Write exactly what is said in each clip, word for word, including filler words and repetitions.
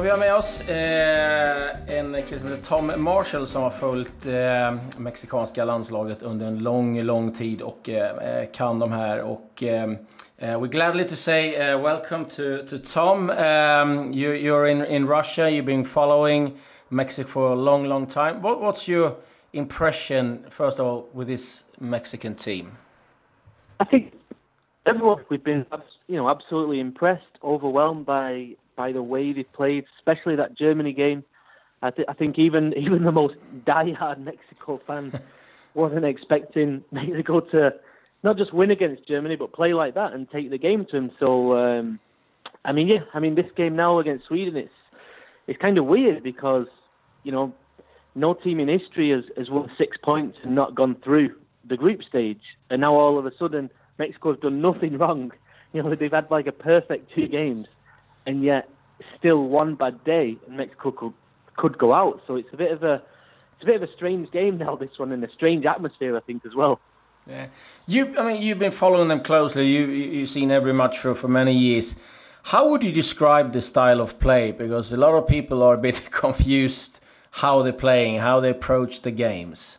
Ja, vi har med oss eh, en kille som heter Tom Marshall som har följt eh, mexikanska landslaget under en lång, lång tid och eh, kan de här. Och eh, we're gladly to say uh, welcome to, to Tom. Um, you, you're in, in Russia, you've been following Mexico for a long, long time. What, what's your impression, first of all, with this Mexican team? I think everyone, we've been, you know, absolutely impressed, overwhelmed by by the way they played, especially that Germany game. I, th- I think even even the most diehard Mexico fans wasn't expecting Mexico to not just win against Germany, but play like that and take the game to them. So, um, I mean, yeah, I mean, this game now against Sweden, it's it's kind of weird because, you know, no team in history has, has won six points and not gone through the group stage. And now all of a sudden, Mexico's done nothing wrong. You know, they've had like a perfect two games, and yet still one bad day, and Mexico could, could go out. So it's a bit of a it's a bit of a strange game now, this one, and a strange atmosphere, I think, as well. Yeah, you. I mean, you've been following them closely. You you've seen every match for for many years. How would you describe the style of play? Because a lot of people are a bit confused how they're playing, how they approach the games.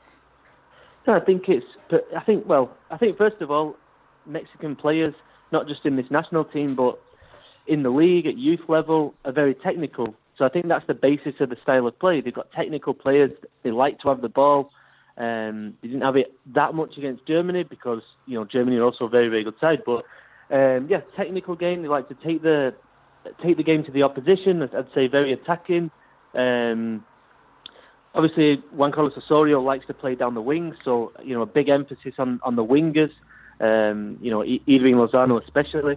No, I think it's. I think well. I think first of all, Mexican players, not just in this national team, but in the league at youth level, are very technical. So I think that's the basis of the style of play. They've got technical players. They like to have the ball. Um, they didn't have it that much against Germany because, you know, Germany are also a very, very good side. But um, yeah, technical game. They like to take the take the game to the opposition. I'd say very attacking. Um, obviously, Juan Carlos Osorio likes to play down the wings, so you know a big emphasis on, on the wingers. Um, you know, Irving Lozano especially,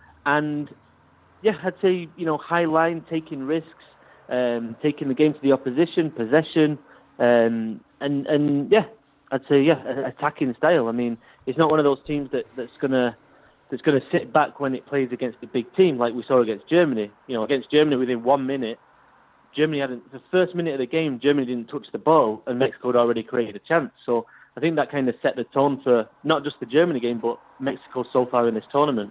and yeah, I'd say you know high line, taking risks, um, taking the game to the opposition, possession, um, and and yeah, I'd say yeah, attacking style. I mean, it's not one of those teams that, that's gonna that's gonna sit back when it plays against a big team like we saw against Germany. You know, against Germany within one minute. Germany hadn't, the first minute of the game, Germany didn't touch the ball and Mexico had already created a chance. So I think that kind of set the tone for not just the Germany game, but Mexico so far in this tournament.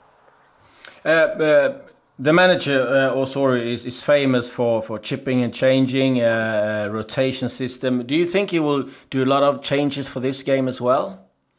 Uh, uh, the manager, uh, Osorio, is, is famous for, for chipping and changing, uh, rotation system. Do you think he will do a lot of changes for this game as well?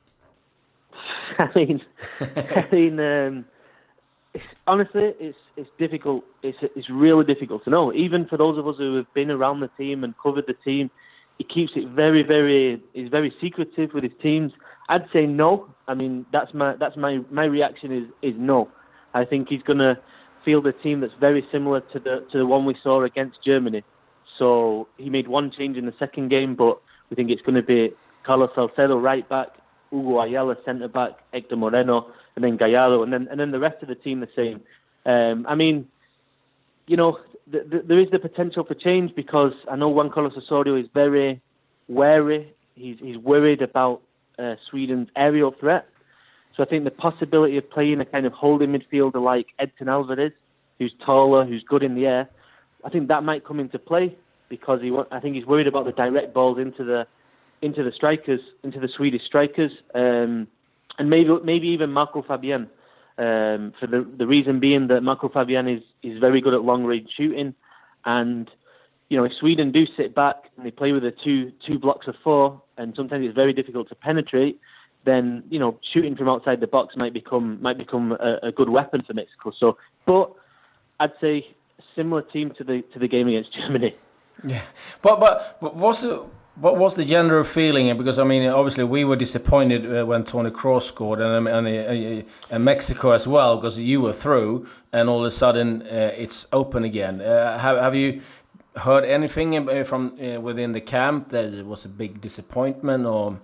I mean, I mean, um, it's, honestly, it's it's difficult. It's it's really difficult to know. Even for those of us who have been around the team and covered the team, he keeps it very, very. He's very secretive with his teams. I'd say no. I mean, that's my that's my my reaction is is no. I think he's gonna field a team that's very similar to the to the one we saw against Germany. So he made one change in the second game, but we think it's going to be Carlos Salcedo right back, Hugo Ayala centre back, Hector Moreno, and then Gallardo, and then and then the rest of the team the same. Um, I mean, you know, th- th- there is the potential for change because I know Juan Carlos Osorio is very wary. He's he's worried about uh, Sweden's aerial threat. So I think the possibility of playing a kind of holding midfielder like Edson Alvarez, who's taller, who's good in the air, I think that might come into play because he. I think he's worried about the direct balls into the into the strikers, into the Swedish strikers, um, and maybe maybe even Marco Fabian. Um, for the the reason being that Marco Fabian is, is very good at long range shooting, and you know if Sweden do sit back and they play with a two two blocks of four, and sometimes it's very difficult to penetrate, then you know shooting from outside the box might become might become a, a good weapon for Mexico. So, but I'd say similar team to the to the game against Germany. Yeah, but but, but what's the What was the general feeling? Because I mean, obviously we were disappointed uh, when Toni Kroos scored, and and, uh, and Mexico as well, because you were through, and all of a sudden uh, it's open again. Uh, have have you heard anything from uh, within the camp that it was a big disappointment, or?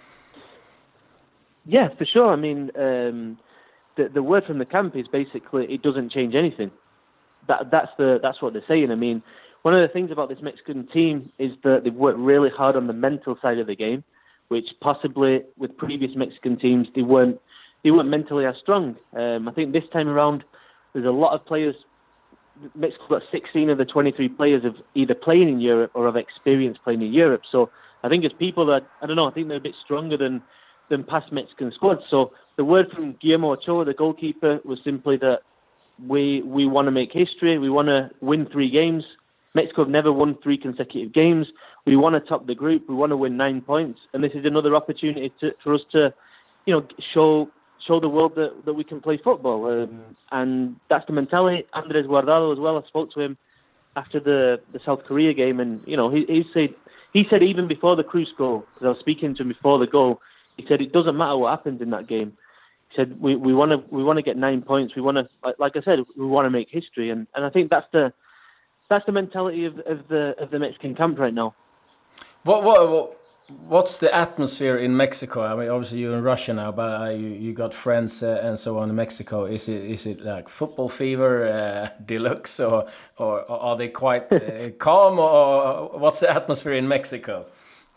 Yeah, for sure. I mean, um, the the word from the camp is basically it doesn't change anything. That that's the that's what they're saying. I mean. One of the things about this Mexican team is that they've worked really hard on the mental side of the game, which possibly with previous Mexican teams they weren't they weren't mentally as strong. Um, I think this time around there's a lot of players. Mexico's got sixteen of the twenty-three players of either playing in Europe or have experience playing in Europe. So I think it's people that I don't know. I think they're a bit stronger than than past Mexican squads. So the word from Guillermo Ochoa, the goalkeeper, was simply that we we want to make history. We want to win three games. Mexico have never won three consecutive games. We want to top the group. We want to win nine points, and this is another opportunity to, for us to, you know, show show the world that, that we can play football. Um, and that's the mentality. Andres Guardado as well. I spoke to him after the, the South Korea game, and you know, he, he said he said even before the Cruz goal, because I was speaking to him before the goal, he said it doesn't matter what happens in that game. He said we we want to we want to get nine points. We want to, like, like I said, we want to make history, and, and I think that's the that's the mentality of, of the of the Mexican camp right now. What what what what's the atmosphere in Mexico? I mean, obviously you're in Russia now, but uh, you you got friends uh, and so on in Mexico. Is it is it like football fever uh, deluxe, or, or or are they quite uh, calm, or what's the atmosphere in Mexico?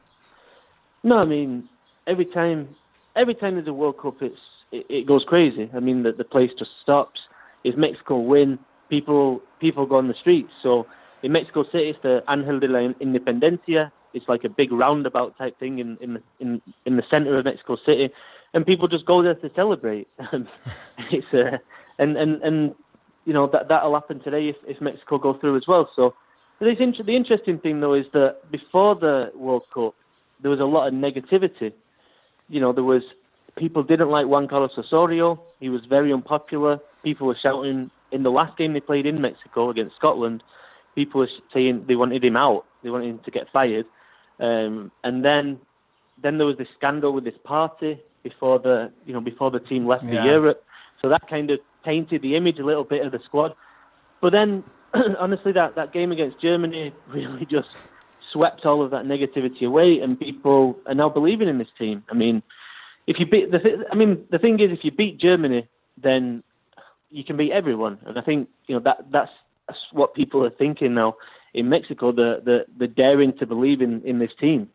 No, I mean every time every time there's a World Cup, it's it, it goes crazy. I mean the the place just stops. If Mexico win, people people go on the streets. So in Mexico City, it's the Ángel de la Independencia. It's like a big roundabout type thing in in the, in, in the center of Mexico City, and people just go there to celebrate. it's uh, and and and you know that that'll happen today if, if Mexico go through as well. So the the interesting thing though is that before the World Cup, there was a lot of negativity. You know, there was people didn't like Juan Carlos Osorio. He was very unpopular. People were shouting in the last game they played in Mexico against Scotland. People were saying they wanted him out. They wanted him to get fired. Um, and then, then there was this scandal with this party before the, you know, before the team left yeah. for Europe. So that kind of tainted the image a little bit of the squad. But then, honestly, that, that game against Germany really just swept all of that negativity away, and people are now believing in this team. I mean, if you beat the, th- I mean, the thing is, if you beat Germany, then you can beat everyone. And I think you know that that's, that's what people are thinking now. In Mexico, the, the, the daring to believe in, in this team.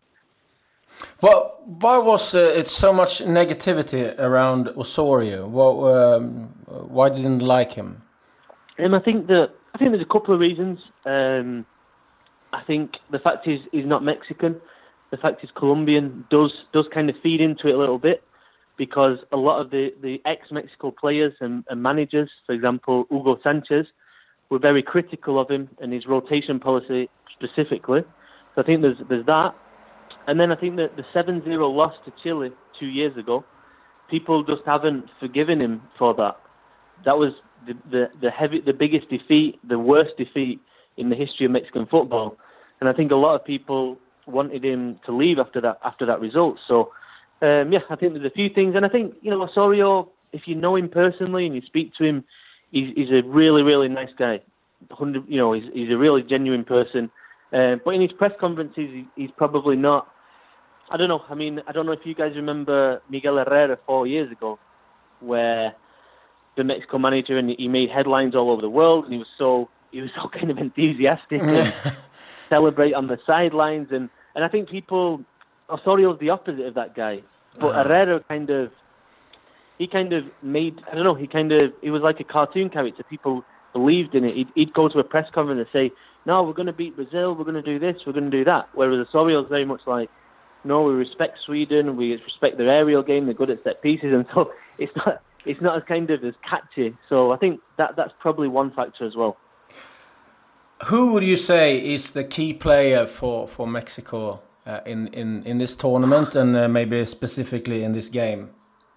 Well, why was uh, it so much negativity around Osorio? Well, um, why didn't you like him? Um, I think that I think there's a couple of reasons. Um, I think the fact is he's not Mexican. The fact he's Colombian does does kind of feed into it a little bit, because a lot of the, the ex-Mexico players and, and managers, for example, Hugo Sanchez, were very critical of him and his rotation policy specifically. So I think there's there's that. And then I think that the seven zero loss to Chile two years ago, people just haven't forgiven him for that. That was the the, the heavy the biggest defeat, the worst defeat in the history of Mexican football. And I think a lot of people wanted him to leave after that after that result. So um, yeah, I think there's a few things. And I think, you know, Osorio, if you know him personally and you speak to him, He's, he's a really, really nice guy. You know, he's, he's a really genuine person. Uh, but in his press conferences, he, he's probably not. I don't know. I mean, I don't know if you guys remember Miguel Herrera four years ago, where the Mexico manager, and he made headlines all over the world, and he was so he was so kind of enthusiastic and celebrate on the sidelines, and, and I think people Osorio's the opposite of that guy, but uh-huh. Herrera kind of. He kind of made, I don't know, he kind of, he was like a cartoon character. People believed in it. He'd, he'd go to a press conference and say, no, we're going to beat Brazil, we're going to do this, we're going to do that. Whereas Osorio's very much like, no, we respect Sweden, we respect their aerial game, they're good at set pieces. And so it's not it's not as kind of as catchy. So I think that that's probably one factor as well. Who would you say is the key player for, for Mexico uh, in, in, in this tournament, and uh, maybe specifically in this game?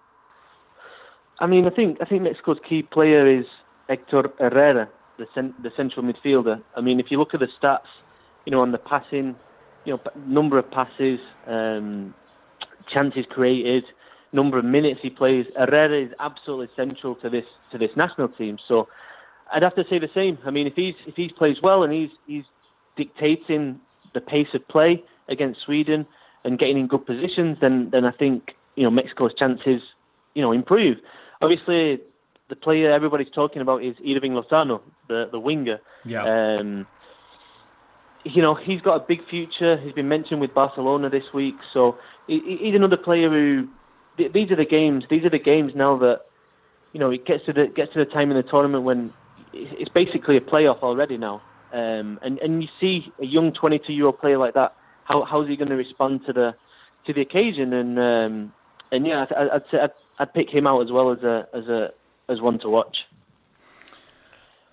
I mean, I think I think Mexico's key player is Héctor Herrera, the cent- the central midfielder. I mean, if you look at the stats, you know, on the passing, you know, number of passes, um, chances created, number of minutes he plays, Herrera is absolutely central to this to this national team. So I'd have to say the same. I mean, if he's if he plays well and he's he's dictating the pace of play against Sweden and getting in good positions, then then I think you know Mexico's chances you know improve. Obviously, the player everybody's talking about is Irving Lozano, the, the winger. Yeah. Um, you know, he's got a big future. He's been mentioned with Barcelona this week. So he, he's another player who, th- these are the games, these are the games now that, you know, it gets to the, gets to the time in the tournament when it's basically a playoff already now. Um, and, and you see a young twenty-two-year-old player like that, how how's he going to respond to the to the occasion? And um, and yeah, I'd, I'd say I'd, I'd pick him out as well as a as a as one to watch.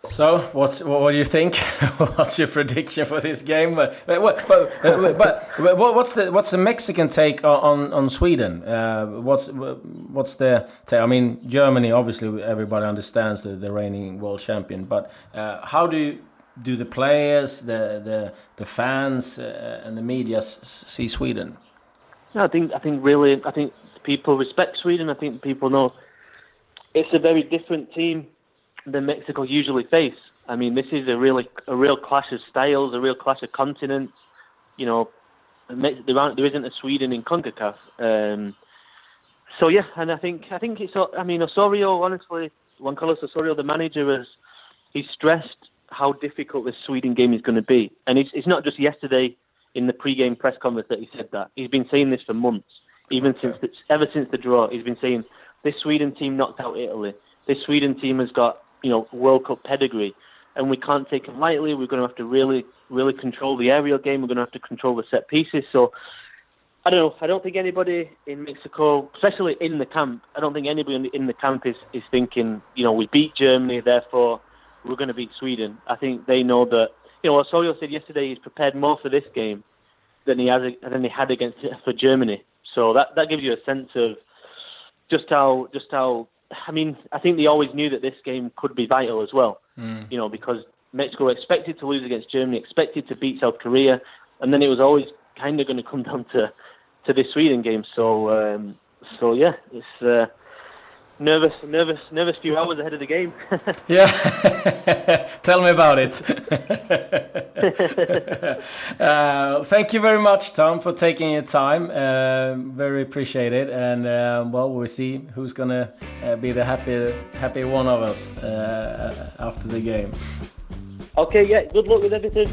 So, what's, what do you think? What's your prediction for this game? But, but, but, but what's the what's the Mexican take on on Sweden? Uh, what's what's the take? I mean, Germany, obviously, everybody understands the, the reigning world champion. But uh, how do you, do the players, the the the fans, uh, and the media see Sweden? No, I think I think really, I think people respect Sweden. I think people know it's a very different team than Mexico usually face. I mean, this is a really a real clash of styles, a real clash of continents. You know, there aren't, there isn't a Sweden in CONCACAF. Um, so yeah, and I think I think it's. I mean, Osorio, honestly, Juan Carlos Osorio, the manager, has he's stressed how difficult this Sweden game is going to be, and it's it's not just yesterday in the pre-game press conference that he said that. He's been saying this for months, even okay. since the, ever since the draw. He's been saying this Sweden team knocked out Italy. This Sweden team has got, you know, World Cup pedigree, and we can't take it lightly. We're going to have to really, really control the aerial game. We're going to have to control the set pieces. So, I don't know. I don't think anybody in Mexico, especially in the camp, I don't think anybody in the, in the camp is, is thinking, you know, we beat Germany, therefore we're going to beat Sweden. I think they know that, you know, Osorio said yesterday he's prepared more for this game than he has than he had against for Germany. So that that gives you a sense of just how just how. I mean, I think they always knew that this game could be vital as well, mm. you know, because Mexico expected to lose against Germany, expected to beat South Korea, and then it was always kind of going to come down to, to this Sweden game. So, um, so yeah, it's uh, nervous, nervous, nervous few hours ahead of the game. Yeah, tell me about it. uh, thank you very much, Tom, for taking your time. Uh, very appreciated, and uh, well, we'll see who's gonna uh, be the happy, happy one of us uh, after the game. Okay, yeah. Good luck with everything.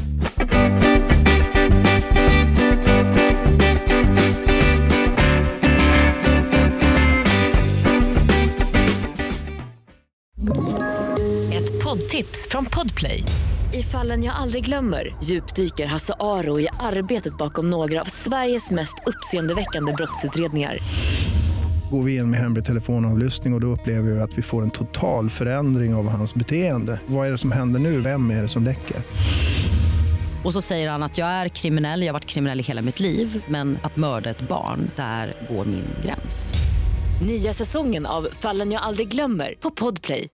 Poddtips från Podplay. I Fallen jag aldrig glömmer djupdyker Hasse Aro i arbetet bakom några av Sveriges mest uppseendeväckande brottsutredningar. Går vi in med hemlig telefonavlyssning och, och då upplever vi att vi får en total förändring av hans beteende. Vad är det som händer nu? Vem är det som läcker? Och så säger han att jag är kriminell, jag har varit kriminell i hela mitt liv, men att mörda ett barn, där går min gräns. Nya säsongen av Fallen jag aldrig glömmer på Podplay.